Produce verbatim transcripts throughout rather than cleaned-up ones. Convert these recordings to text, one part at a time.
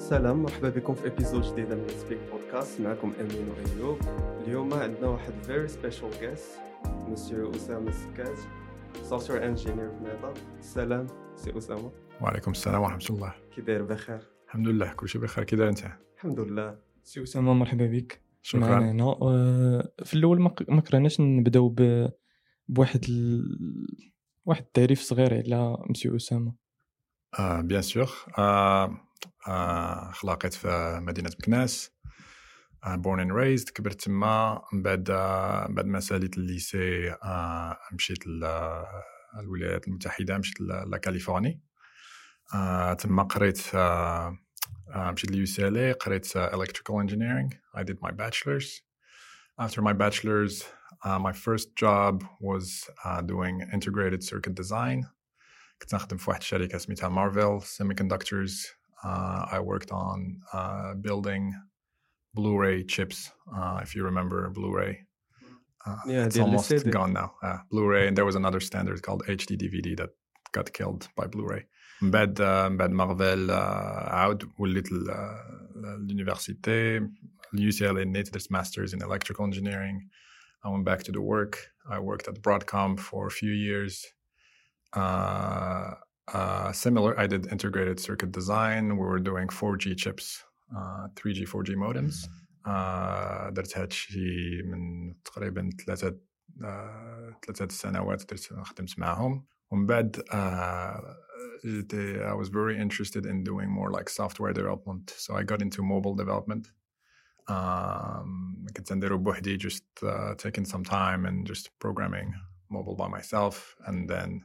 سلام، مرحبا بكم في ابيزود جديده من سبيك بودكاست. معكم امين وايوب. اليوم عندنا واحد فيري سبيشال جيست، مسيو اسامه السكاج، سوفتوير انجينير في ميتا. سلام سي اسامه. وعليكم السلام ورحمة الله. كي داير؟ بخير الحمد لله، كل شيء بخير. كي داير انت؟ الحمد لله. سي أسامة، مرحبا بك. شكرا. معنا هنا آه، في الاول ما ق- ما كرهناش نبداو ب- بواحد ال... واحد التعريف صغير على مسيو أسامة. آه بيان سور. آه آه خلاقيت في مدينة مكناس. آه born and raised. كبرت تما. من بعد آه بعد ما ساليت الليسي آه مشيت للولايات المتحدة، مشيت لكاليفورنيا. آه تما قريت آه آه مشيت ليو سي ال اي، قريت آه electrical engineering. I did my bachelor's. After my bachelor's, uh, my first job was uh, doing integrated circuit design. كنت نخدم في واحد الشركة سميتها Marvell Semiconductors. Uh, I worked on uh, building Blu-ray chips, uh, if you remember Blu-ray. Uh, Yeah, it's ديال almost السي دي. gone now. Uh, Blu-ray, and there was another standard called H D D V D that got killed by Blu-ray. من بعد uh, من بعد Marvell uh, عاود وليت l'université. U C L A N A T E Masters in Electrical Engineering. I went back to the work. I worked at Broadcom for a few years. Uh, uh, similar, I did integrated circuit design. We were doing four G chips, uh, three G, four G modems. Uh, درت هادشي من تقريبا ثلاثة uh, ثلاثة سنوات درت خدمت معهم. ومن بعد uh, I was very interested in doing more like software development. So I got into mobile development. Um, كنت نديرو بوحدي, just uh, taking some time and just programming mobile by myself. And then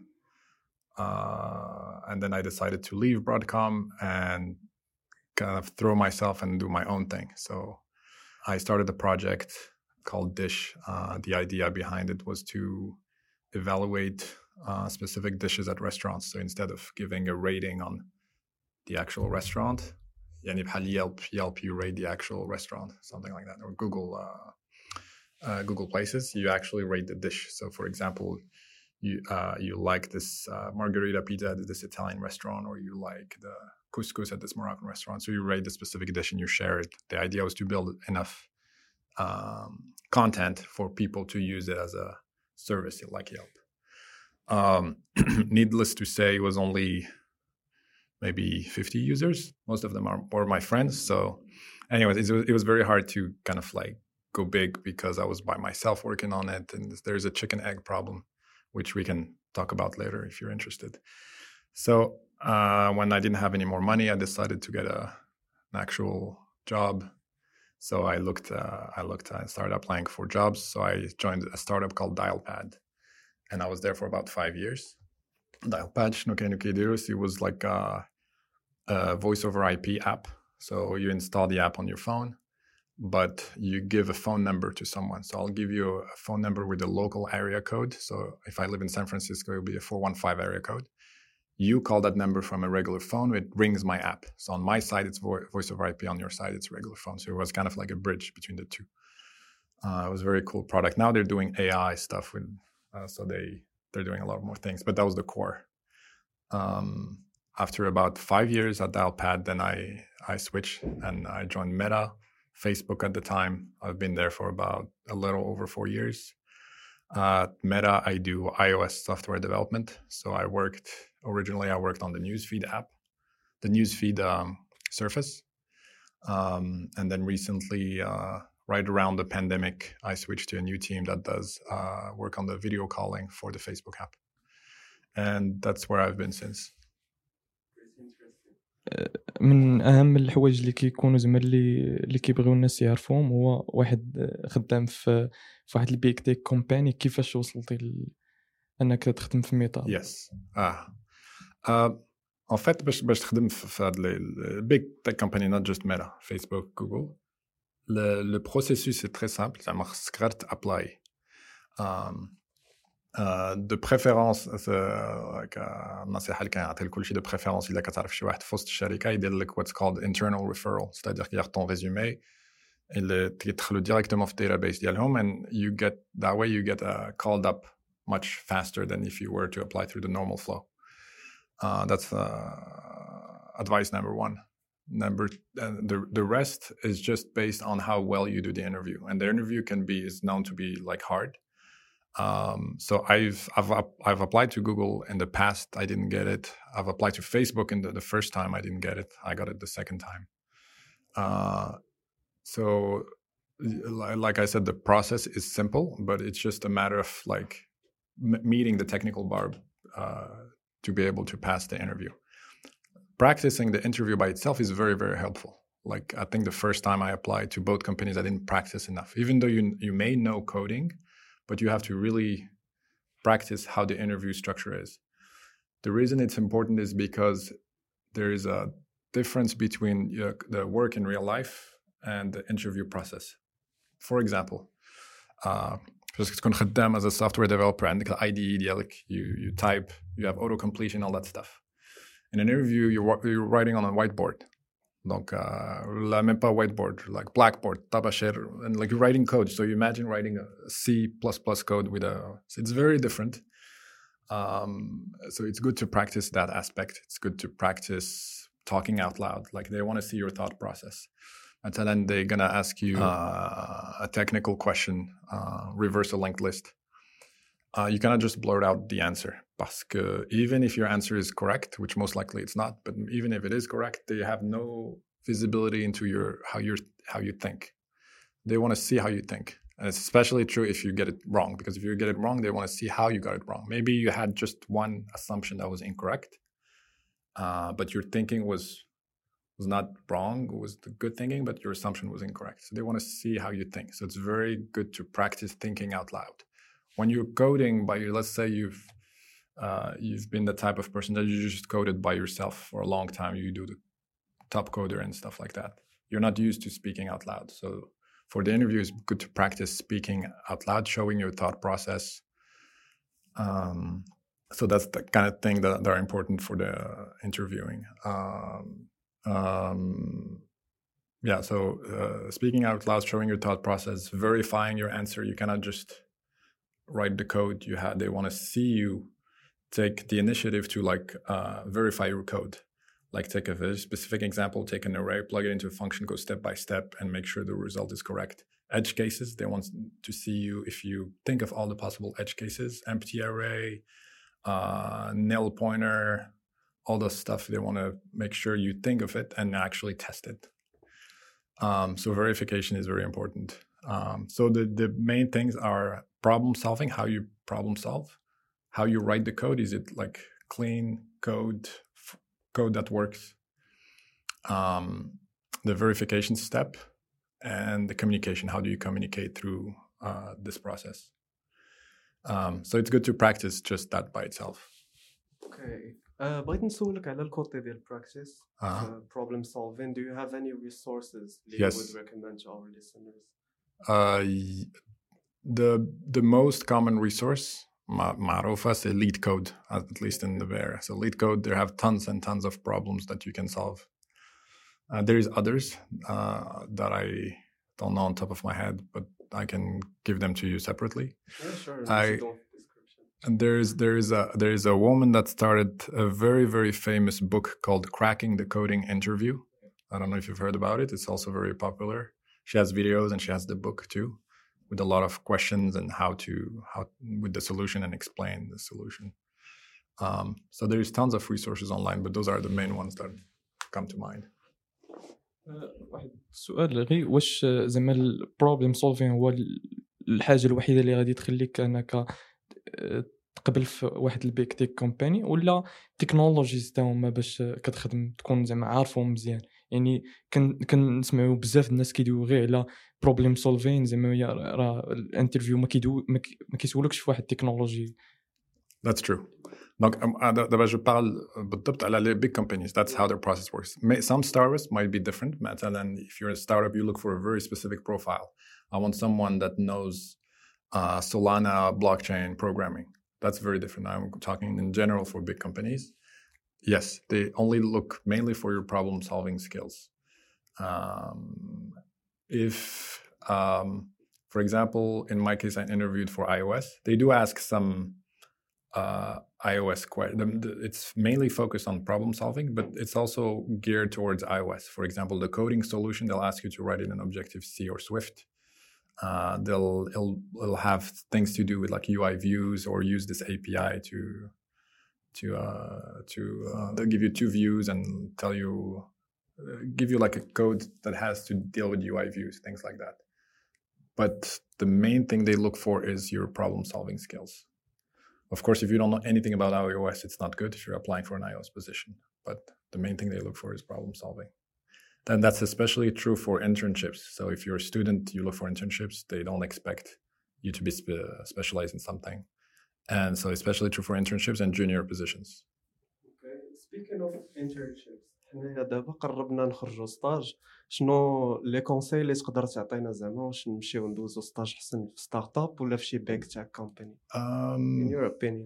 uh, and then I decided to leave Broadcom and kind of throw myself and do my own thing. So I started a project called Dish. Uh, the idea behind it was to evaluate uh, specific dishes at restaurants. So instead of giving a rating on the actual restaurant, يعني بحال Yelp, Yelp, you rate the actual restaurant, something like that, or Google, uh, uh, Google Places, you actually rate the dish. So, for example, you uh, you like this uh, margarita pizza at this Italian restaurant, or you like the couscous at this Moroccan restaurant. So you rate the specific dish and you share it. The idea was to build enough um, content for people to use it as a service like Yelp. Um, needless to say, it was only maybe fifty users. Most of them are were my friends. So anyways, it was, it was very hard to kind of like go big because I was by myself working on it. And there's a chicken egg problem, which we can talk about later if you're interested. So uh, when I didn't have any more money, I decided to get a, an actual job. So I looked, uh, I looked, I started applying for jobs. So I joined a startup called Dialpad. And I was there for about five years. Dialpad, شنو كانوا كيديروا? It was like a, a voice over I P app. So you install the app on your phone, but you give a phone number to someone. So I'll give you a phone number with a local area code. So if I live in San Francisco, it'll be a four one five area code. You call that number from a regular phone, it rings my app. So on my side, it's vo- voice over I P. On your side, it's regular phone. So it was kind of like a bridge between the two. Uh, it was a very cool product. Now they're doing A I stuff with, uh, so they, they're doing a lot more things, but that was the core. Um, after about five years at Dialpad, then I, I switched and I joined Meta, Facebook at the time. I've been there for about a little over four years. Uh, at Meta, I do iOS software development. So I worked, originally I worked on the Newsfeed app, the Newsfeed um, surface. Um, and then recently, uh, right around the pandemic, I switched to a new team that does uh, work on the video calling for the Facebook app. And that's where I've been since. من أهم الحوايج اللي كيكونوا زعما اللي اللي كيبغيو الناس يعرفوهم هو واحد خدام في في واحد البيك تيك كومباني. كيفاش وصلتي ل... أنك تخدم في ميتا؟ Yes. Ah. Uh, en fait, باش باش تخدم في في هاد ال big tech company, not just Meta, Facebook, Google. Le, le processus est très simple. زعما خصك غير تابلاي. Um, Uh, de préférence النصيحة اللي كنعطي لكل شيء de préférence إلا كتعرف شي واحد في وسط الشركة يدير لك what's called internal referral, c'est-à-dire qu'il y a ton résumé اللي تدخلوا directement في database ديالهم and you get that way you get uh, called up much faster than if you were to apply through the normal flow. Uh, that's uh, advice number one. Number uh, the the rest is just based on how well you do the interview, and the interview can be is known to be like hard. Um, so I've I've I've applied to Google in the past. I didn't get it. I've applied to Facebook in the, the first time. I didn't get it. I got it the second time. Uh, so, like I said, the process is simple, but it's just a matter of like m- meeting the technical bar uh, to be able to pass the interview. Practicing the interview by itself is very, very helpful. Like I think the first time I applied to both companies, I didn't practice enough. Even though you you may know coding, but you have to really practice how the interview structure is. The reason it's important is because there is a difference between uh, the work in real life and the interview process. For example, uh, just تكون خدام as a software developer عندك I D E ديالك, you you type, you have auto completion, all that stuff. In an interview, you're, you're writing on a whiteboard. Donc, uh, la même pas whiteboard, like blackboard, tabashir, and like you're writing code. So you imagine writing a C plus plus code with a, so it's very different. Um, so it's good to practice that aspect. It's good to practice talking out loud. Like they want to see your thought process. And then they're going to ask you uh, a technical question, uh, reverse a linked list. Uh, you cannot just blurt out the answer. Because even if your answer is correct, which most likely it's not, but even if it is correct, they have no visibility into your how you how you think. They want to see how you think, and it's especially true if you get it wrong. Because if you get it wrong, they want to see how you got it wrong. Maybe you had just one assumption that was incorrect, uh, but your thinking was was not wrong. It was the good thinking, but your assumption was incorrect. So they want to see how you think. So it's very good to practice thinking out loud. When you're coding by, let's say you've Uh, you've been the type of person that you just coded by yourself for a long time. You do the top coder and stuff like that. You're not used to speaking out loud. So for the interview, it's good to practice speaking out loud, showing your thought process. Um, so that's the kind of thing that, that are important for the interviewing. Um, um, yeah, so uh, speaking out loud, showing your thought process, verifying your answer. You cannot just write the code. You have, they want to see you take the initiative to like uh, verify your code. Like take a very specific example, take an array, plug it into a function, go step by step and make sure the result is correct. Edge cases, they want to see you if you think of all the possible edge cases, empty array, uh, nil pointer, all the stuff. They want to make sure you think of it and actually test it. Um, so verification is very important. Um, so the, the main things are problem solving, how you problem solve. How you write the code, is it like clean code, f- code that works? Um, the verification step and the communication. How do you communicate through uh, this process? Um, so it's good to practice just that by itself. Okay. Uh, بغيت نسولك على الكوتي ديال practice, uh-huh. uh, problem solving. Do you have any resources that yes. you would recommend to our listeners? Uh, the the most common resource, معروفة, is LeetCode, at least in the Bear. So LeetCode, there have tons and tons of problems that you can solve. Uh, there is others uh, that I don't know on top of my head, but I can give them to you separately. Yeah, sure. I, and there is there is a there is a woman that started a very very famous book called Cracking the Coding Interview. I don't know if you've heard about it. It's also very popular. She has videos and she has the book too, with a lot of questions and how to how with the solution and explain the solution. Um, so there's tons of resources online, but those are the main ones that come to mind. واحد السؤال غير، واش زعما البروبليم سولفين هو الحاجه الوحيده اللي غادي تخليك انك تقبل في واحد البيك تيك كومباني، ولا تكنولوجيز تا هما باش كتخدم تكون زعما عارفهم مزيان؟ يعني كن كنسمعوا بزاف الناس كيدويو غير على بروبليم سولفين، زعما راه الانترفيو ما كيدو ما كيسولكش في واحد التكنولوجي. That's true. Donc, d'abord, je parle بالضبط على les big companies. That's how their process works. Some startups might be different. مثلا, if you're a startup, you look for a very specific profile. I want someone that knows uh, Solana blockchain programming. That's very different. I'm talking in general for big companies. Yes, they only look mainly for your problem-solving skills. Um, if, um, for example, in my case, I interviewed for iOS. They do ask some uh, iOS. Que- the, the, it's mainly focused on problem solving, but it's also geared towards iOS. For example, the coding solution, they'll ask you to write it in Objective-C or Swift. Uh, they'll it'll, it'll have things to do with like U I views or use this A P I to to uh, to uh, they'll give you two views and tell you uh, give you like a code that has to deal with U I views, things like that. But the main thing they look for is your problem solving skills. Of course, if you don't know anything about iOS, it's not good if you're applying for an iOS position. But the main thing they look for is problem solving. Then that's especially true for internships. So if you're a student, you look for internships. They don't expect you to be spe- specialized in something. And so especially true for internships and junior positions. Okay. Speaking of internships, حنا دابا قربنا نخرجوا ستاج. شنو لي كونساي اللي تقدر تعطينا زعما واش نمشيو ندوزو ستاج حسن في ستارت اب ولا في شي بيك تاع كومباني؟ Um, In your opinion.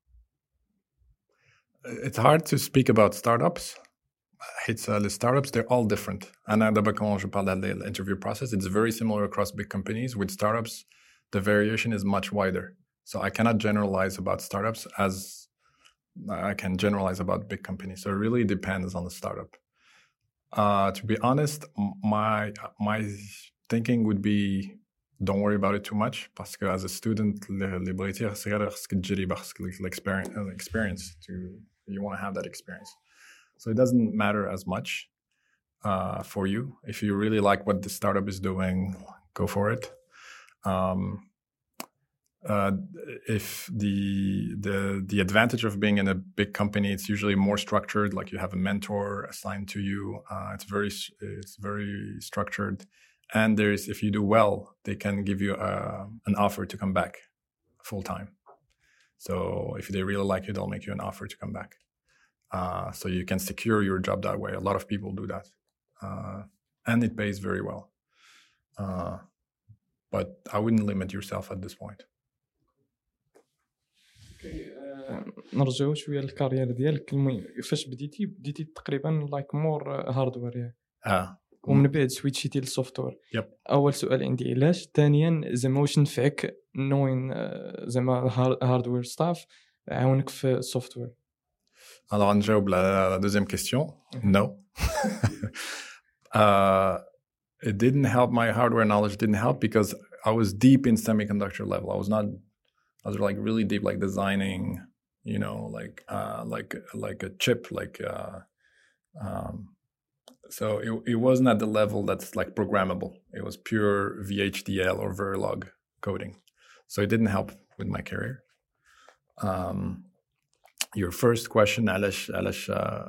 It's hard to speak about startups. It's uh, the startups, they're all different. And d'abord, quand je parle de l'interview process, it's very similar across big companies. With startups, the variation is much wider. So I cannot generalize about startups as I can generalize about big companies. So it really depends on the startup. Uh, to be honest, my my thinking would be don't worry about it too much. Parce que as a student, experience to you want to have that experience. So it doesn't matter as much uh, for you. If you really like what the startup is doing, go for it. Um, uh, if the the the advantage of being in a big company, it's usually more structured. Like you have a mentor assigned to you. Uh, it's very it's very structured, and there's if you do well, they can give you a, an offer to come back full time. So if they really like you, they'll make you an offer to come back. Uh, so you can secure your job that way. A lot of people do that. Uh, and it pays very well. Uh, but I wouldn't limit yourself at this point. نرجعوا شويه للكارير ديالك. المهم فاش بديتي بديتي تقريبا لايك مور هاردوير يعني اه ومن بعد سويتشيتي للسوفتوير. يب. اول سؤال عندي علاش، ثانيا زعما واش نفعك نوين زعما هاردوير ستاف عاونك في السوفتوير؟ Alors, نجاوب على la deuxième question. No. uh, it didn't help. My hardware knowledge didn't help because I was deep in semiconductor level. I was not, I was like really deep, like designing, you know, like, uh, like, like a chip, like, uh, um, so it, it wasn't at the level that's like programmable. It was pure V H D L or Verilog coding. So it didn't help with my career. Um, Your first question, Alish, Alish, uh,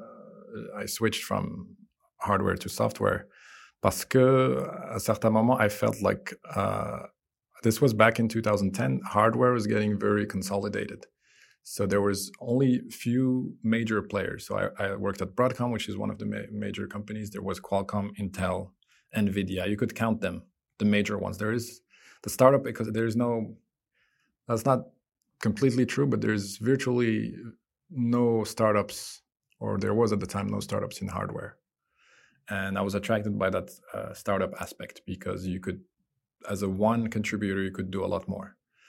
I switched from hardware to software parce que à un certain moment, I felt like uh, this was back in two thousand ten. Hardware was getting very consolidated. So there was only few major players. So I, I worked at Broadcom, which is one of the ma- major companies. There was Qualcomm, Intel, NVIDIA. You could count them, the major ones. There is the startup because there is no, that's not completely true, but there's virtually no startups, or there was at the time no startups in hardware. And I was attracted by that uh, startup aspect because you could, as a one contributor, you could do a lot more.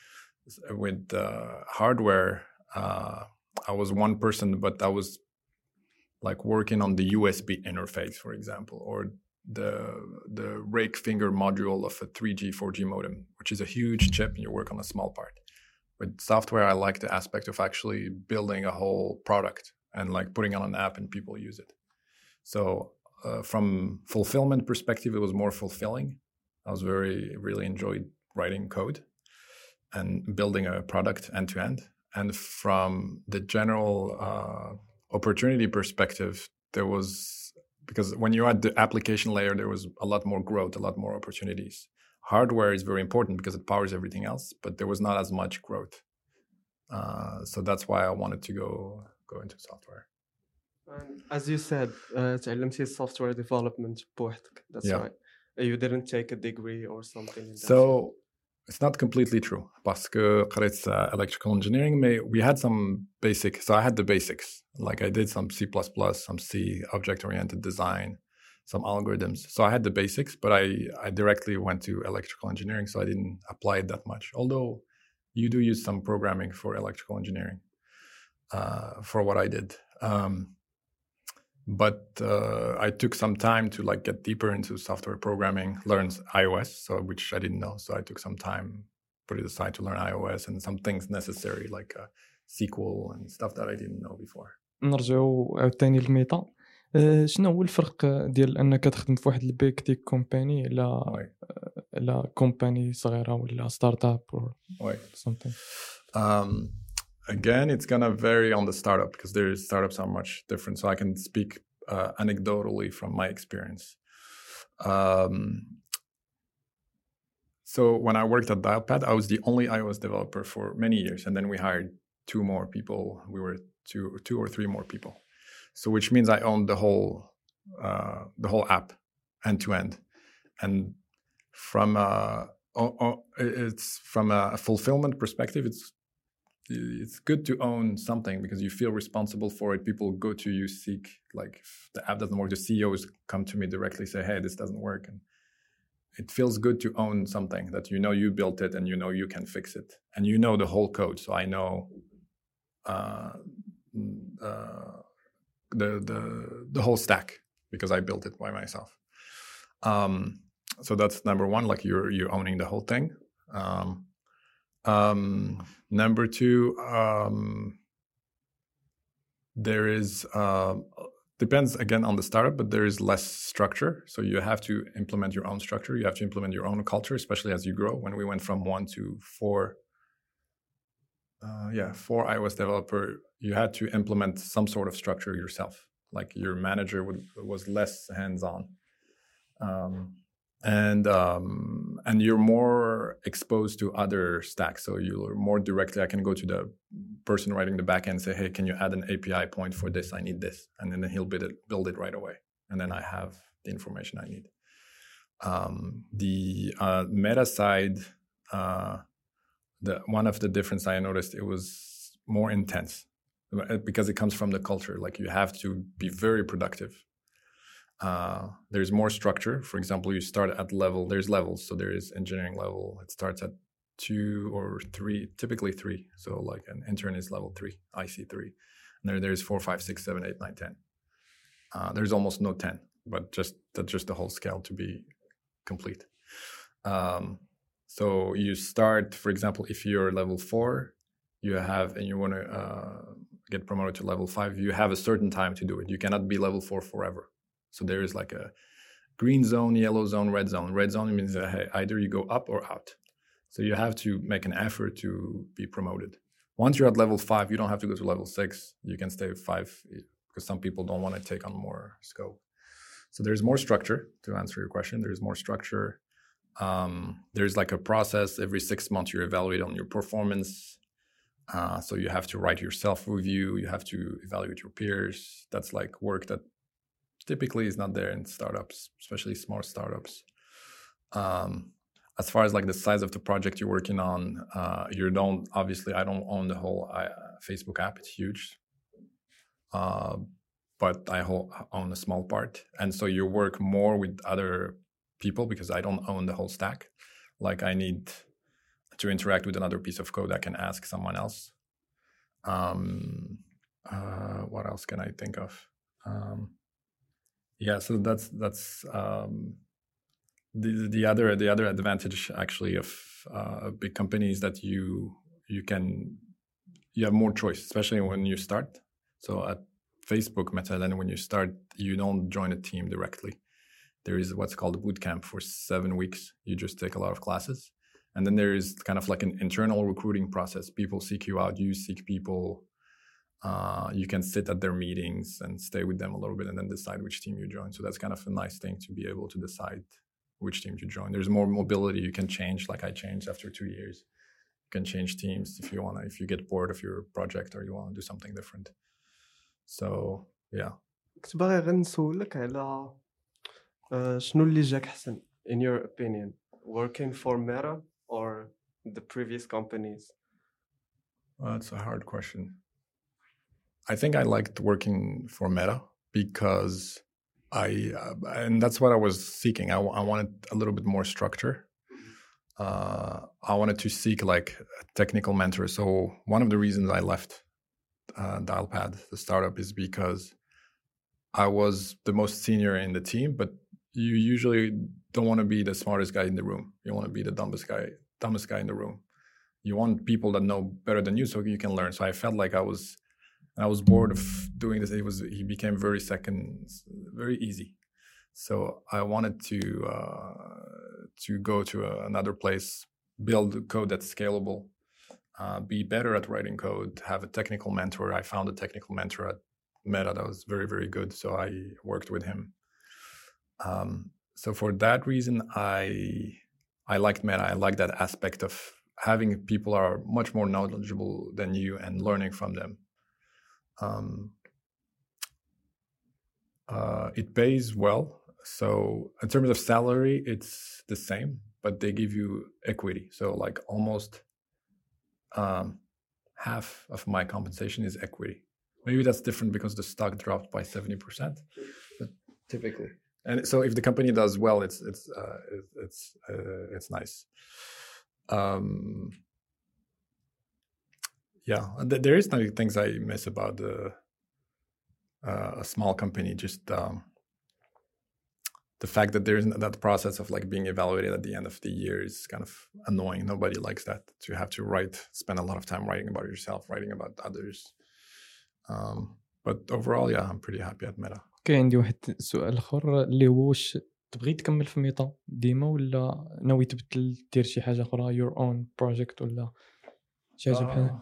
With uh, hardware, uh, I was one person, but I was like working on the U S B interface, for example, or the the rake finger module of a three G, four G modem, which is a huge chip, and you work on a small part. With software, I like the aspect of actually building a whole product and like putting on an app and people use it. So uh, from fulfillment perspective, it was more fulfilling. I was very, really enjoyed writing code and building a product end to end. And from the general uh, opportunity perspective, there was, because when you're at the application layer, there was a lot more growth, a lot more opportunities. Hardware is very important because it powers everything else, but there was not as much growth. Uh, so that's why I wanted to go go into software. And as you said, uh, تعلمتي software development بوحدك. That's Yeah. right. You didn't take a degree or something in that So field. it's not completely true. Parce que قريت uh, electrical engineering, we had some basic. So I had the basics. Like I did some C plus plus, some C, object-oriented design, some algorithms. So I had the basics, but I, I directly went to electrical engineering, so I didn't apply it that much. Although you do use some programming for electrical engineering uh, for what I did. Um, but uh, I took some time to like get deeper into software programming, learn iOS, so which I didn't know. So I took some time, put it aside to learn iOS and some things necessary like uh, S Q L and stuff that I didn't know before. نرجعوا عاوتاني للميتا. أه شنو هو الفرق ديال انك تخدم في واحد البيك تيك كومباني لا لا كومباني صغيره ولا ستارت اب or ouais. something? Um, again, it's gonna vary on the startup because their startups are much different. So I can speak uh, anecdotally from my experience. Um, so when I worked at Dialpad, I was the only iOS developer for many years, and then we hired two more people. We were two, two or three more people. So which means I owned the whole uh, the whole app end to end, and from a, oh, oh, it's from a fulfillment perspective, it's it's good to own something because you feel responsible for it. People go to you, seek like if the app doesn't work, the C E Os come to me directly, say, "Hey, this doesn't work," and it feels good to own something that you know you built it and you know you can fix it, and you know the whole code. So I know. Uh, uh, the the the whole stack because I built it by myself. Um, so that's number one, like you're you're owning the whole thing. Um, um, number two, um, there is uh, depends again on the startup, but there is less structure. So you have to implement your own structure. You have to implement your own culture, especially as you grow. When we went from one to four, uh, yeah, four iOS developer. You had to implement some sort of structure yourself. Like your manager would, was less hands-on, um, and um, and you're more exposed to other stacks. So you're more directly. I can go to the person writing the backend and say, "Hey, can you add an A P I point for this? I need this," and then he'll build it, build it right away, and then I have the information I need. Um, the uh, meta side, uh, the one of the difference I noticed, it was more intense. Because it comes from the culture, like you have to be very productive. Uh, there's more structure. For example, you start at level, there's levels. So there is engineering level. It starts at two or three, typically three. So like an intern is level three, I C three. And there, there's four, five, six, seven, eight, nine, ten. Uh, there's almost no ten, but just that's just the whole scale to be complete. Um, so you start, for example, if you're level four, you have, and you want to uh, get promoted to level five, you have a certain time to do it. You cannot be level four forever. So there is like a green zone, yellow zone, red zone. Red zone means that hey, either you go up or out. So you have to make an effort to be promoted. Once you're at level five, you don't have to go to level six. You can stay at five because some people don't want to take on more scope. So there's more structure to answer your question. There's more structure. Um, there's like a process. Every six months, you evaluate on your performance. Uh, so you have to write your self-review. You have to evaluate your peers. That's like work that typically is not there in startups, especially small startups. Um, as far as like the size of the project you're working on, uh, you don't, obviously I don't own the whole uh, Facebook app. It's huge. Uh, but I own a small part. And so you work more with other people because I don't own the whole stack. Like I need to interact with another piece of code, I can ask someone else. Um, uh, what else can I think of? Um, yeah, so that's that's um, the the other the other advantage actually of uh, big companies that you you can you have more choice, especially when you start. So at Facebook, مثلا, when you start, you don't join a team directly. There is what's called a bootcamp for seven weeks. You just take a lot of classes. And then there is kind of like an internal recruiting process. People seek you out, you seek people. Uh, you can sit at their meetings and stay with them a little bit and then decide which team you join. So that's kind of a nice thing to be able to decide which team to join. There's more mobility. You can change, like I changed after two years. You can change teams if you want to, if you get bored of your project or you want to do something different. So, yeah. كنت باغي غير نسولك على شنو اللي جاك حسن in your opinion, working for Meta or the previous companies? Well, that's a hard question. I think I liked working for Meta because I, uh, and that's what I was seeking. I, I wanted a little bit more structure. uh, I wanted to seek like a technical mentor. So one of the reasons I left uh, Dialpad, the startup, is because I was the most senior in the team, but you usually don't want to be the smartest guy in the room. You want to be the dumbest guy, dumbest guy in the room. You want people that know better than you so you can learn. So I felt like I was, I was bored of doing this. It was, he became very second, very easy. So I wanted to uh, to go to a, another place, build code that's scalable, uh, be better at writing code, have a technical mentor. I found a technical mentor at Meta that was very, very good. So I worked with him. Um, so for that reason, I I liked Meta. I liked that aspect of having people are much more knowledgeable than you and learning from them. Um, uh, it pays well. So in terms of salary, it's the same, but they give you equity. So like almost um, half of my compensation is equity. Maybe that's different because the stock dropped by seventy percent, but typically. And so if the company does well, it's it's uh, it's uh, it's nice. Um, yeah, there is no things I miss about the, uh, a small company. Just um, the fact that there isn't that process of like being evaluated at the end of the year is kind of annoying. Nobody likes that. To have to write, spend a lot of time writing about yourself, writing about others. Um, but overall, yeah, I'm pretty happy at Meta. كاين عندي واحد السؤال اخر اللي هو واش تبغي تكمل في ميتا ديما ولا ناوي تبدل دير شي حاجه اخرى your own project ولا شي حاجه بحال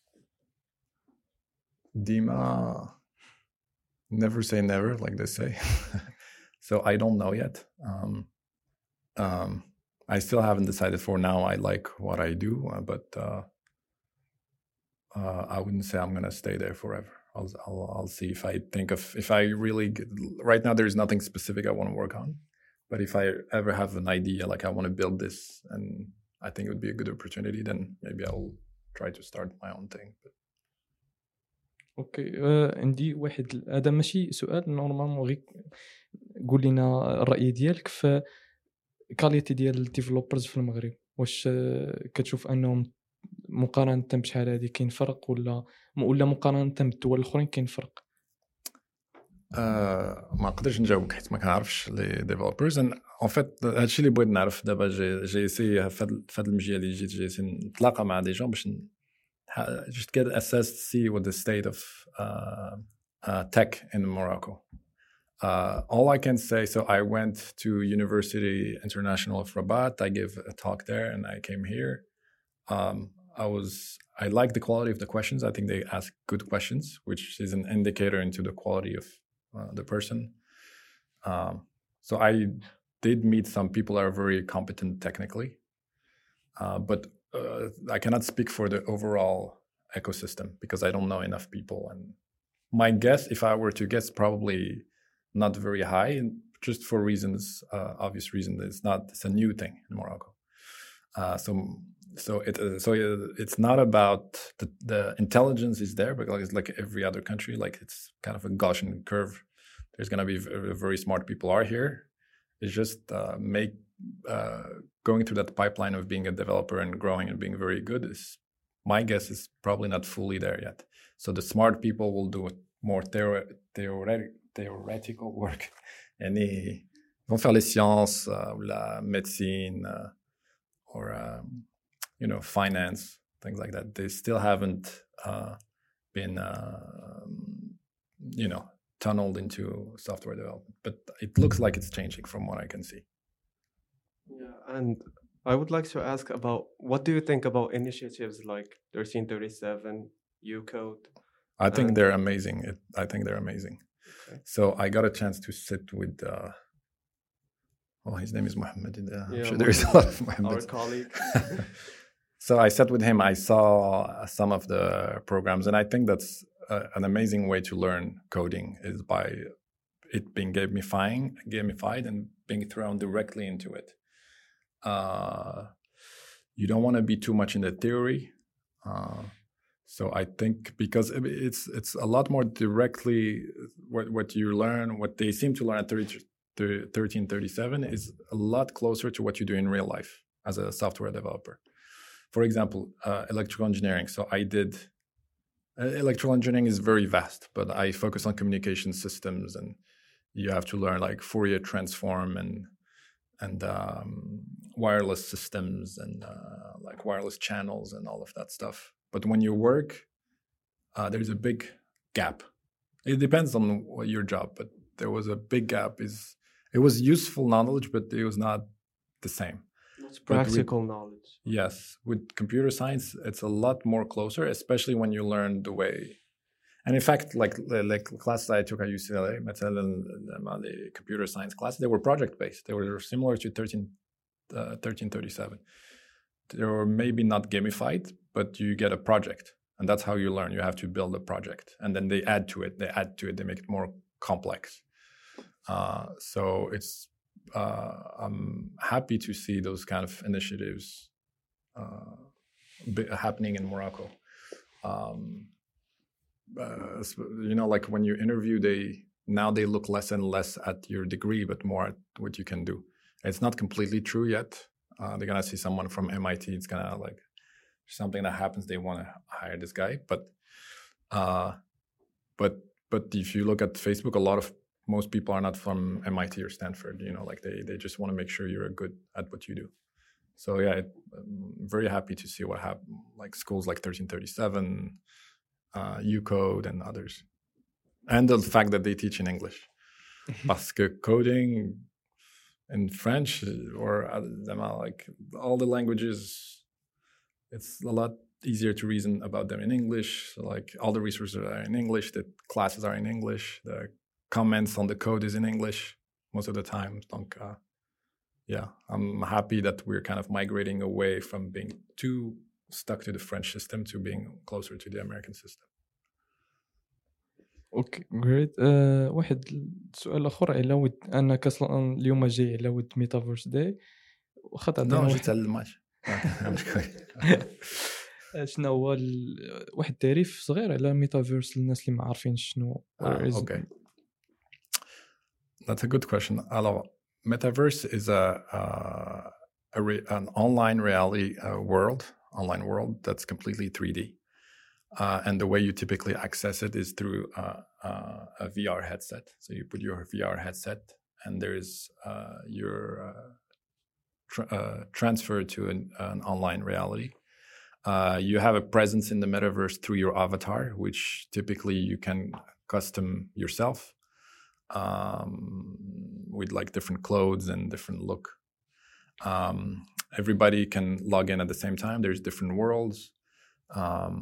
ديما never say never like they say. So I don't know yet. Um, um, I still haven't decided. For now, I like what I do, uh, but uh, uh, I wouldn't say I'm gonna stay there forever. I'll, I'll, I'll see if I think of, if I really, get, right now there's nothing specific I want to work on, but if I ever have an idea, like I want to build this and I think it would be a good opportunity, then maybe I'll try to start my own thing. But... اوكي uh, عندي واحد هذا ماشي سؤال نورمالمون غير قول لنا الرأي ديالك في كاليتي ديال الديفلوبرز في المغرب واش كتشوف انهم مقارنه بشحال هذه كاين فرق ولا ولا مقارنه بالدول الاخرين كاين فرق؟ أه ما نقدرش نجاوبك حيت ما كنعرفش لي ديفلوبرز ان فيت. هادشي اللي بغيت نعرف دابا جي جي سي في هاد المجال اللي جيت جي سي نتلاقى مع دي جون باش just get assessed to see what the state of uh, uh, tech in Morocco. Uh, all I can say, so I went to University International of Rabat. I gave a talk there and I came here. Um, I was, I like the quality of the questions. I think they ask good questions, which is an indicator into the quality of uh, the person. Um, so I did meet some people that are very competent technically, uh, but uh, I cannot speak for the overall ecosystem because I don't know enough people. And my guess, if I were to guess, probably not very high, and just for reasons, uh, obvious reasons, it's not, it's a new thing in Morocco. Uh, so, so it, uh, so it's not about the, the intelligence is there, but it's like every other country, like it's kind of a Gaussian curve. There's going to be very, very smart people are here. It's just uh, make uh, going through that pipeline of being a developer and growing and being very good is, my guess is probably not fully there yet. So the smart people will do more theore- theoretic, theoretical work. Any, vont faire les sciences, uh, la médecine, uh, or um, you know, finance, things like that. They still haven't uh, been, uh, you know, tunneled into software development. But it looks like it's changing from what I can see. Yeah, and I would like to ask about what do you think about initiatives like thirteen thirty-seven, Ucode? I think and... they're amazing. It, I think they're amazing. Okay. So I got a chance to sit with. Uh, oh, his name is Mohammed. Uh, yeah, I'm sure there is a lot of Mohammed. Our colleague. So I sat with him. I saw some of the programs, and I think that's uh, an amazing way to learn coding is by it being gamified, gamified, and being thrown directly into it. Uh, you don't want to be too much in the theory. Uh, so I think because it's it's a lot more directly what, what you learn, what they seem to learn at thirteen thirty-seven is a lot closer to what you do in real life. as a software developer. For example, uh, electrical engineering. So I did, uh, electrical engineering is very vast, but I focus on communication systems, and you have to learn like Fourier transform and and um, wireless systems and uh, like wireless channels and all of that stuff. But when you work, uh, there's a big gap. It depends on what your job, but there was a big gap. Is it was useful knowledge, but it was not the same. It's practical with, knowledge. Yes, with computer science, it's a lot more closer, especially when you learn the way. And in fact, like like classes I took at U C L A, the computer science classes, they were project based. They were similar to thirteen thirty-seven. They were maybe not gamified, but you get a project. And that's how you learn. You have to build a project. And then they add to it. They add to it. They make it more complex. Uh, so it's uh, I'm happy to see those kind of initiatives uh, happening in Morocco. Um, uh, you know, like when you interview, they now they look less and less at your degree, but more at what you can do. It's not completely true yet. Uh, they're gonna see someone from M I T. It's gonna like something that happens. They want to hire this guy, but uh, but but if you look at Facebook, a lot of most people are not from M I T or Stanford. You know, like they they just want to make sure you're good at what you do. So yeah, it, I'm very happy to see what happened. Like schools like thirteen thirty-seven, uh, U Code, and others, and the fact that they teach in English. Parce que coding in French or like all the languages, it's a lot easier to reason about them in English. So like all the resources are in English, the classes are in English, the comments on the code is in English most of the time. Donc, uh, yeah, I'm happy that we're kind of migrating away from being too stuck to the French system to being closer to the American system. اوكي جريت. أه واحد سؤال اخر على ود انا اصلا اليوم جاي على ود ميتافيرس داي واخا تعطينا واحد جيت على الماتش. شنو هو ال... واحد التعريف صغير على ميتافيرس للناس اللي ما عارفين شنو. اوكي That's a good question. Alors, metaverse is a, uh, a re- an online reality uh, world, online world that's completely three D. Uh, and the way you typically access it is through uh, uh, a V R headset. So you put your V R headset, and there's uh, your uh, tr- uh, transfer to an, an online reality. Uh, you have a presence in the metaverse through your avatar, which typically you can custom yourself. Um, with like different clothes and different look. Um, everybody can log in at the same time. There's different worlds. Um,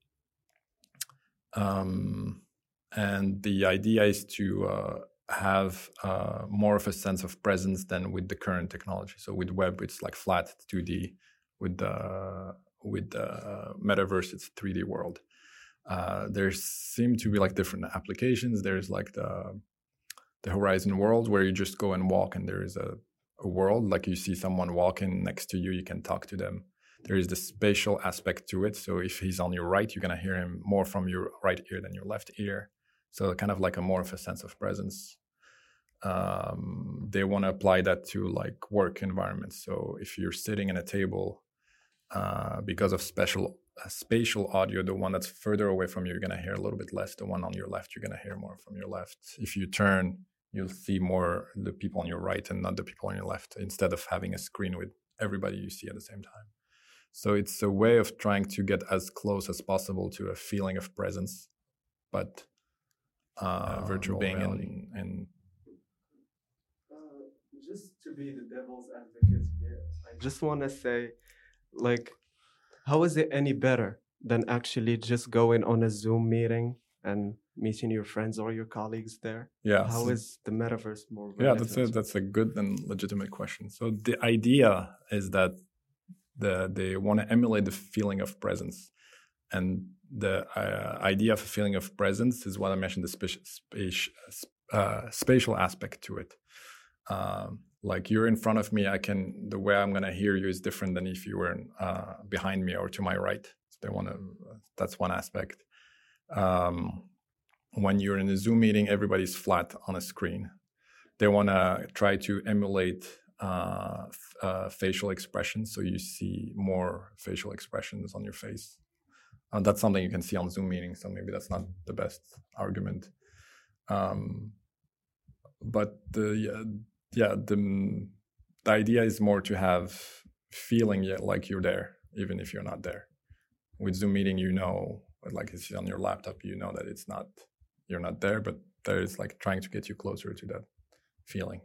um, and the idea is to uh, have uh, more of a sense of presence than with the current technology. So with web, it's like flat two D. With the, with the metaverse, it's a three D world. Uh, there seem to be like different applications. There's like the the Horizon world where you just go and walk and there is a, a world like you see someone walking next to you, you can talk to them. There is the spatial aspect to it. So if he's on your right, you're going to hear him more from your right ear than your left ear. So kind of like a more of a sense of presence. Um, they want to apply that to like work environments. So if you're sitting at a table, uh, because of special uh, spatial audio, the one that's further away from you, you're going to hear a little bit less. The one on your left, you're going to hear more from your left. If you turn, you'll see more the people on your right and not the people on your left, instead of having a screen with everybody you see at the same time. So it's a way of trying to get as close as possible to a feeling of presence, but uh, uh, virtual being reality. In, in uh, just to be the devil's advocate here, I just want to say, like, how is it any better than actually just going on a Zoom meeting and meeting your friends or your colleagues there? Yeah. How is the metaverse more relevant? Yeah, that's a, that's a good and legitimate question. So the idea is that the they want to emulate the feeling of presence. And the uh, idea of a feeling of presence is what I mentioned, the spati- spati- uh, spatial aspect to it. Um, like you're in front of me, I can, the way I'm going to hear you is different than if you were uh, behind me or to my right. So they want to, that's one aspect. Um, when you're in a Zoom meeting, everybody's flat on a screen. They want to try to emulate uh, f- uh, facial expressions. So you see more facial expressions on your face. Uh, that's something you can see on Zoom meetings. So maybe that's not the best argument. Um, but the yeah, yeah the the idea is more to have feeling yeah, like you're there, even if you're not there. With Zoom meeting, you know, like it's on your laptop, you know that it's not, you're not there, but there is like trying to get you closer to that feeling.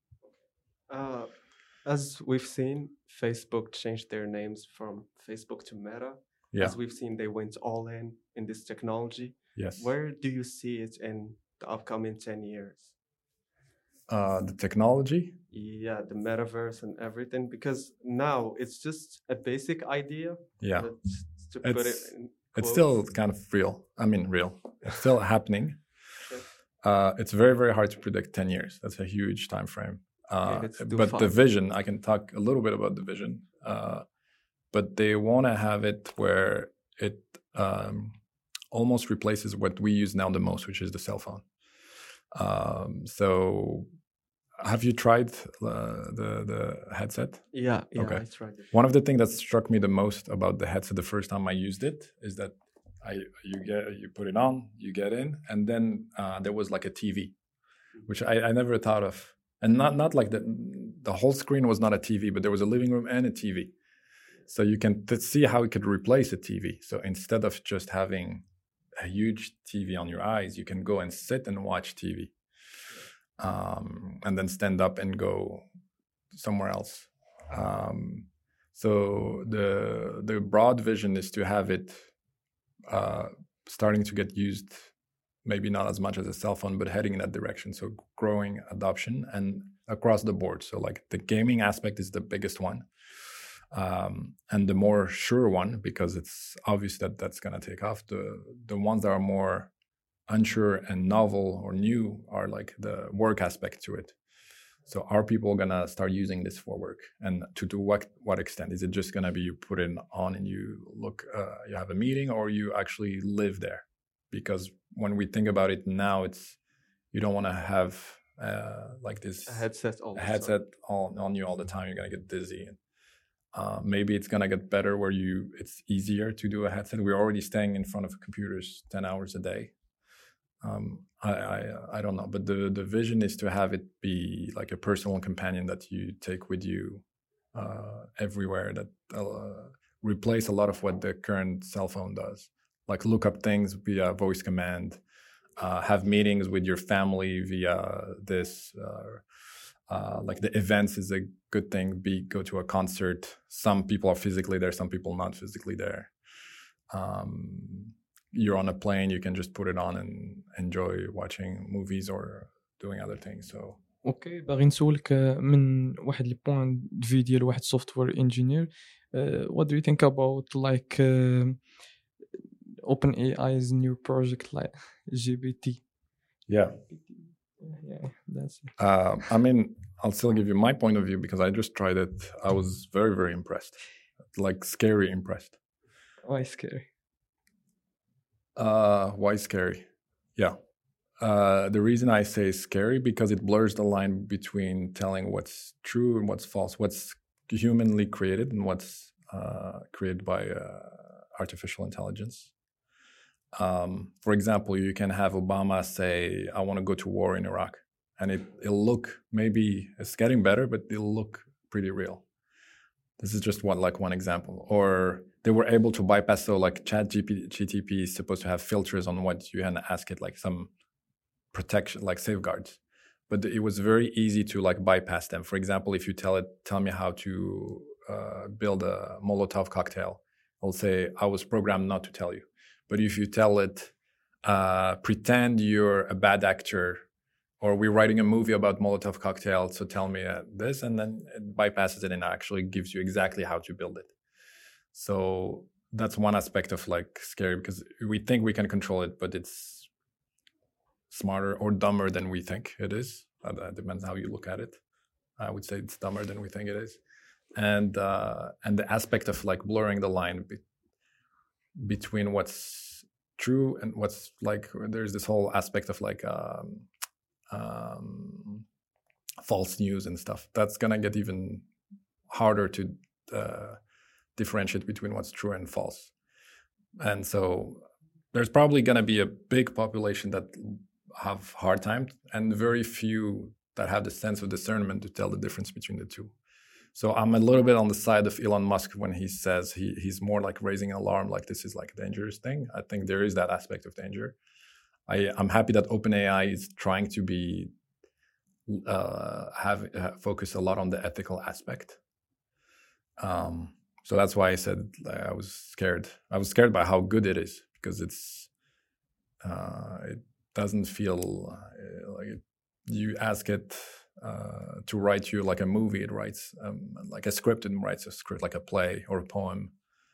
Uh, as we've seen, Facebook changed their names from Facebook to Meta. Yeah. As we've seen, they went all in in this technology. Yes. Where do you see it in the upcoming ten years? Uh, the technology? Yeah, the metaverse and everything. Because now it's just a basic idea. Yeah. Let's- to put it It's, in it's quotes. still kind of real. I mean, real. It's still happening. Uh, it's very, very hard to predict ten years. That's a huge time frame. Uh, let's do but the five. vision, I can talk a little bit about the vision. Uh, but they want to have it where it um, almost replaces what we use now the most, which is the cell phone. Um, so have you tried uh, the the headset? Yeah, yeah, Okay. I tried it. One of the things that struck me the most about the headset the first time I used it is that I you get you put it on, you get in, and then uh, there was like a T V, which I, I never thought of, and not not like the the whole screen was not a T V, but there was a living room and a T V, so you can t- see how it could replace a T V. So instead of just having a huge T V on your eyes, you can go and sit and watch T V, um, and then stand up and go somewhere else. Um, so the the broad vision is to have it uh, starting to get used, maybe not as much as a cell phone, but heading in that direction. So growing adoption and across the board. So like the gaming aspect is the biggest one, um, and the more sure one, because it's obvious that that's going to take off. The the ones that are more unsure and novel or new are like the work aspect to it. So are people gonna start using this for work, and to to what what extent? Is it just gonna be you put it on and you look, uh, you have a meeting, or you actually live there? Because when we think about it now, it's you don't want to have uh, like this A headset all a the headset time. on, on you all the time. You're gonna get dizzy. And, uh, maybe it's gonna get better where you it's easier to do a headset. We're already staying in front of computers ten hours a day. Um, I, I I don't know, but the the vision is to have it be like a personal companion that you take with you uh, everywhere. That uh, replace a lot of what the current cell phone does, like look up things via voice command, uh, have meetings with your family via this. Uh, uh, like the events is a good thing. Be go to a concert. Some people are physically there, some people not physically there. Um, you're on a plane, you can just put it on and enjoy watching movies or doing other things. So اوكي باغي نسولك من واحد البوان دو في ديال واحد سوفتوير انجينير what do you think about like uh, OpenAI's new project like G P T? yeah, Yeah, that's it. uh, I mean, I'll still give you my point of view because I just tried it. I was very, very impressed, like scary impressed. Why scary? Uh, why scary? Yeah. Uh, the reason I say scary because it blurs the line between telling what's true and what's false, what's humanly created and what's uh, created by uh, artificial intelligence. Um, for example, you can have Obama say, I want to go to war in Iraq. And it, it'll look, maybe it's getting better, but it'll look pretty real. This is just one, like one example. Or they were able to bypass, so like Chat G T P is supposed to have filters on what you can ask it, like some protection, like safeguards. But it was very easy to like bypass them. For example, if you tell it, tell me how to uh, build a Molotov cocktail, it'll say, I was programmed not to tell you. But if you tell it, uh, pretend you're a bad actor, or we're writing a movie about Molotov cocktails, so tell me uh, this, and then it bypasses it and actually gives you exactly how to build it. So that's one aspect of like scary because we think we can control it, but it's smarter or dumber than we think it is. Uh, that depends how you look at it. I would say it's dumber than we think it is. And uh, and the aspect of like blurring the line be- between what's true and what's like, there's this whole aspect of like, um, um, false news and stuff. That's gonna get even harder to uh, differentiate between what's true and false. And so there's probably gonna be a big population that have hard time, and very few that have the sense of discernment to tell the difference between the two. So I'm a little bit on the side of Elon Musk when he says he he's more like raising an alarm, like this is like a dangerous thing. I think there is that aspect of danger. I, I'm happy that OpenAI is trying to be uh, have uh, focus a lot on the ethical aspect. Um, so that's why I said like, I was scared. I was scared by how good it is, because it's uh, it doesn't feel uh, like it, you ask it uh, to write you like a movie. It writes um, like a script, and writes a script like a play or a poem.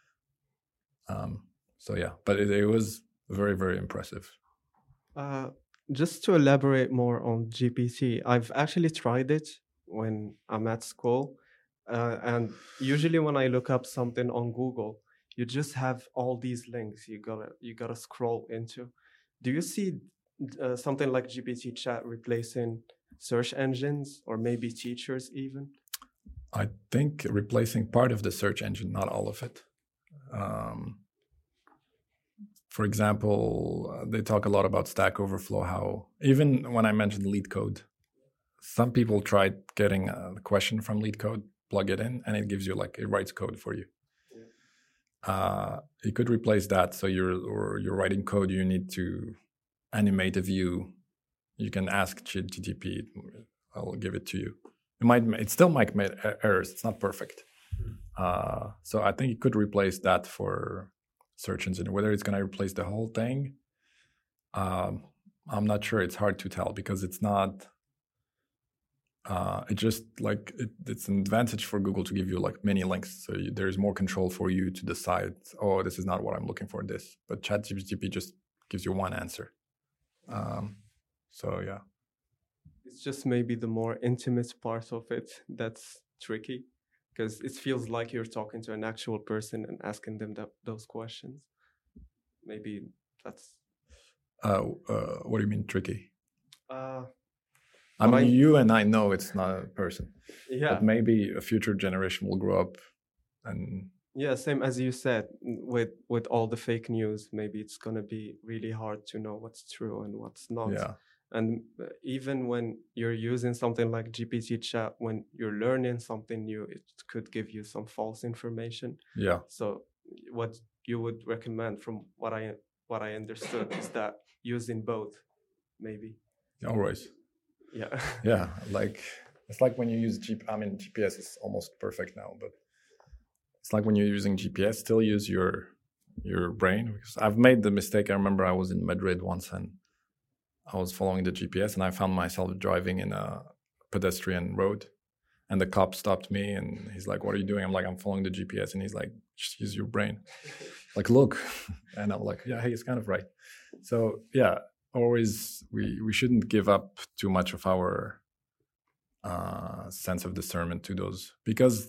Um, so yeah, but it, it was very, very impressive. Uh, just to elaborate more on G P T, I've actually tried it when I'm at school. Uh, and usually when I look up something on Google, you just have all these links you gotta you gotta scroll into. Do you see uh, something like G P T chat replacing search engines, or maybe teachers even? I think replacing part of the search engine, not all of it. Um, for example, uh, they talk a lot about Stack Overflow, how even when I mentioned LeetCode, some people tried getting a question from LeetCode, plug it in, and it gives you like, it writes code for you. Yeah. Uh, you could replace that. So you're, or you're writing code, you need to animate a view. You can ask G T P, I'll give it to you. It might, it still might make errors. It's not perfect. Uh, so I think it could replace that for search engine. Whether it's going to replace the whole thing, um, I'm not sure. It's hard to tell, because it's not. Uh, it just like it, it's an advantage for Google to give you like many links, so you, there's more control for you to decide. Oh, this is not what I'm looking for. This, but ChatGPT just gives you one answer. Um, so yeah. It's just maybe the more intimate part of it that's tricky, because it feels like you're talking to an actual person and asking them that, those questions. Maybe that's... Uh, uh, what do you mean tricky? Uh, I mean, I... you and I know it's not a person. Yeah. But maybe a future generation will grow up and... Yeah, same as you said, with, with all the fake news, maybe it's going to be really hard to know what's true and what's not. Yeah. And even when you're using something like G P T chat, when you're learning something new, it could give you some false information. Yeah. So what you would recommend, from what I what I understood, is that using both, maybe. Always. Yeah. Yeah. Like, it's like when you use G P, I mean, G P S is almost perfect now, but it's like when you're using G P S, still use your your brain. Because I've made the mistake. I remember I was in Madrid once, and I was following the G P S, and I found myself driving in a pedestrian road, and the cop stopped me, and he's like, "What are you doing?" I'm like, "I'm following the G P S," and he's like, "Just use your brain, like look." And I'm like, "Yeah, hey, he's kind of right." So yeah, always we we shouldn't give up too much of our uh, sense of discernment to those, because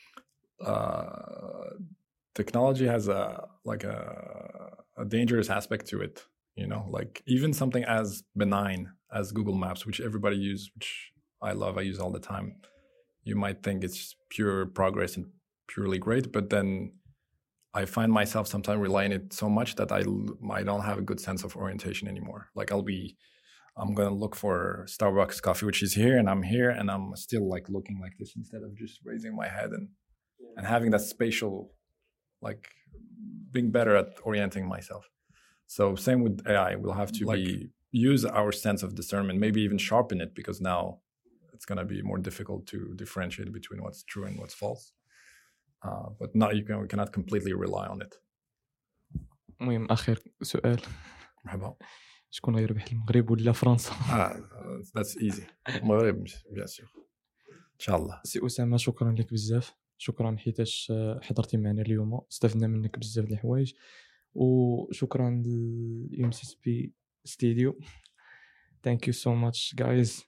uh, technology has a like a, a dangerous aspect to it. You know, like even something as benign as Google Maps, which everybody uses, which I love, I use all the time. You might think it's pure progress and purely great, but then I find myself sometimes relying on it so much that I, I don't have a good sense of orientation anymore. Like I'll be, I'm going to look for Starbucks coffee, which is here, and I'm here, and I'm still like looking like this instead of just raising my head and, and having that spatial, like being better at orienting myself. So same with A I, we'll have to like, be use our sense of discernment, maybe even sharpen it, because now it's going to be more difficult to differentiate between what's true and what's false. Uh, but not you can we cannot completely rely on it. المهم آخر سؤال. مرحبا. شكون غيربح المغرب ولا فرنسا؟ Ah, that's easy. المغرب bien sûr. إن شاء الله. سي أسامة، شكرا لك بزاف. شكرا حيتاش حضرتي معنا اليوم، استفدنا منك بزاف د الحوايج. وشكرا للام سي اس بي ستوديو. ثانك يو سو ماتش جايز،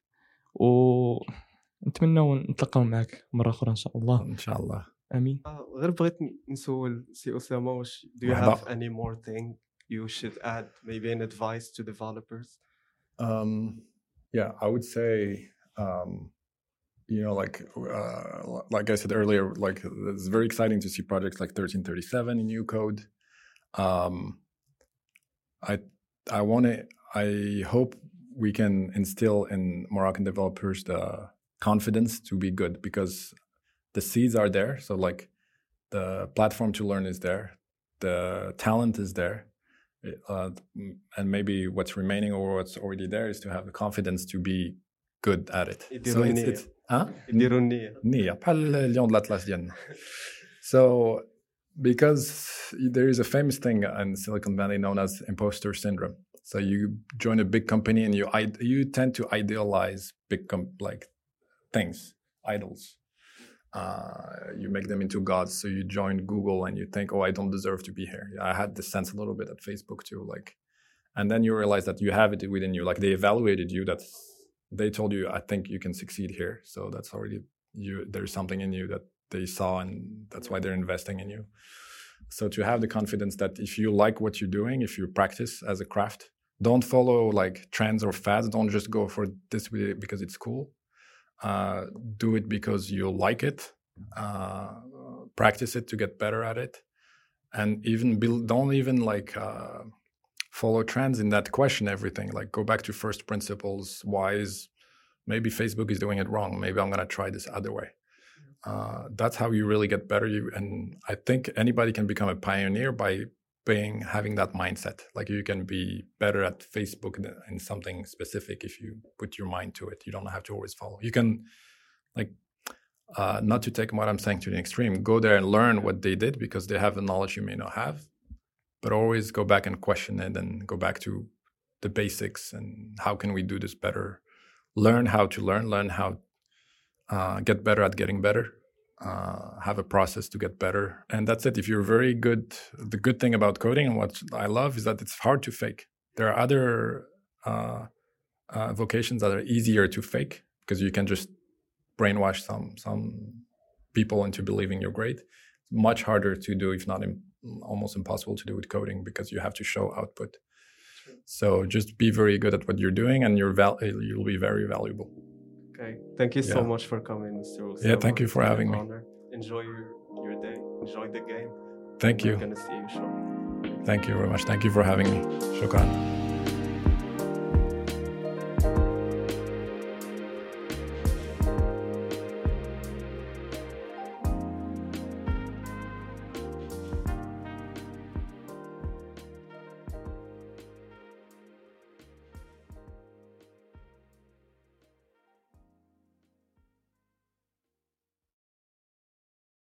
ونتمنى نتلاقاو معك مره اخرى ان شاء الله. ان شاء الله. امين. غير بغيت نسول سي اسامه، واش do you have any more thing you should add, maybe an advice to developers? Um, yeah, I would say um, you know, like uh, like I said earlier, like it's very exciting to see projects like thirteen thirty-seven in new code. Um, I I want to. I hope we can instill in Moroccan developers the confidence to be good, because the seeds are there. So like the platform to learn is there, the talent is there, uh, and maybe what's remaining or what's already there is to have the confidence to be good at it. So it's, it's huh? يديروا النية. نية بحال اليوم de l'Atlas ديالنا. So because there is a famous thing in Silicon Valley known as imposter syndrome. So you join a big company and you you tend to idealize big com- like things, idols. Uh, you make them into gods. So you join Google and you think, oh, I don't deserve to be here. I had this sense a little bit at Facebook too. Like, and then you realize that you have it within you. Like they evaluated you. That they told you, I think you can succeed here. So that's already you. There's something in you that they saw, and that's why they're investing in you. So to have the confidence that if you like what you're doing, if you practice as a craft, don't follow like trends or fads. Don't just go for this because it's cool. Uh, do it because you like it. Uh, practice it to get better at it, and even build. Don't even like uh, follow trends in that. Question everything. Like go back to first principles. Why is maybe Facebook is doing it wrong? Maybe I'm gonna try this other way. Uh, that's how you really get better. You and I think anybody can become a pioneer by being having that mindset. Like you can be better at Facebook in something specific if you put your mind to it. You don't have to always follow. You can, like, uh, not to take what I'm saying to the extreme, go there and learn what they did because they have the knowledge you may not have, but always go back and question it and go back to the basics and how can we do this better? Learn how to learn, learn how uh, get better at getting better. Uh, have a process to get better, and that's it. If you're very good, the good thing about coding and what I love is that it's hard to fake. There are other uh, uh, vocations that are easier to fake because you can just brainwash some some people into believing you're great. It's much harder to do, if not im- almost impossible to do with coding because you have to show output. So just be very good at what you're doing, and you're val- you'll be very valuable. Okay, thank you so Yeah. much for coming, Mister Osama. Yeah, thank you for It's having an me. honor. Enjoy your, your day. Enjoy the game. Thank We're you. gonna see you shortly. Thank you very much. Thank you for having me. Shukran.